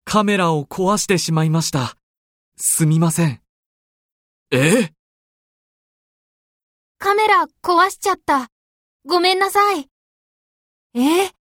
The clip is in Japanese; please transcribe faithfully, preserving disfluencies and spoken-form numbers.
カメラを壊してしまいました。すみません。 え？ カメラ壊しちゃった。ごめんなさい。え？